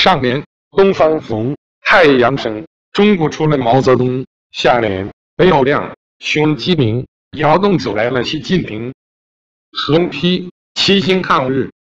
上联东方红，太阳升，中国出了毛泽东；下联北有亮，雄鸡鸣，窑洞走来了习近平。横批齐心抗日，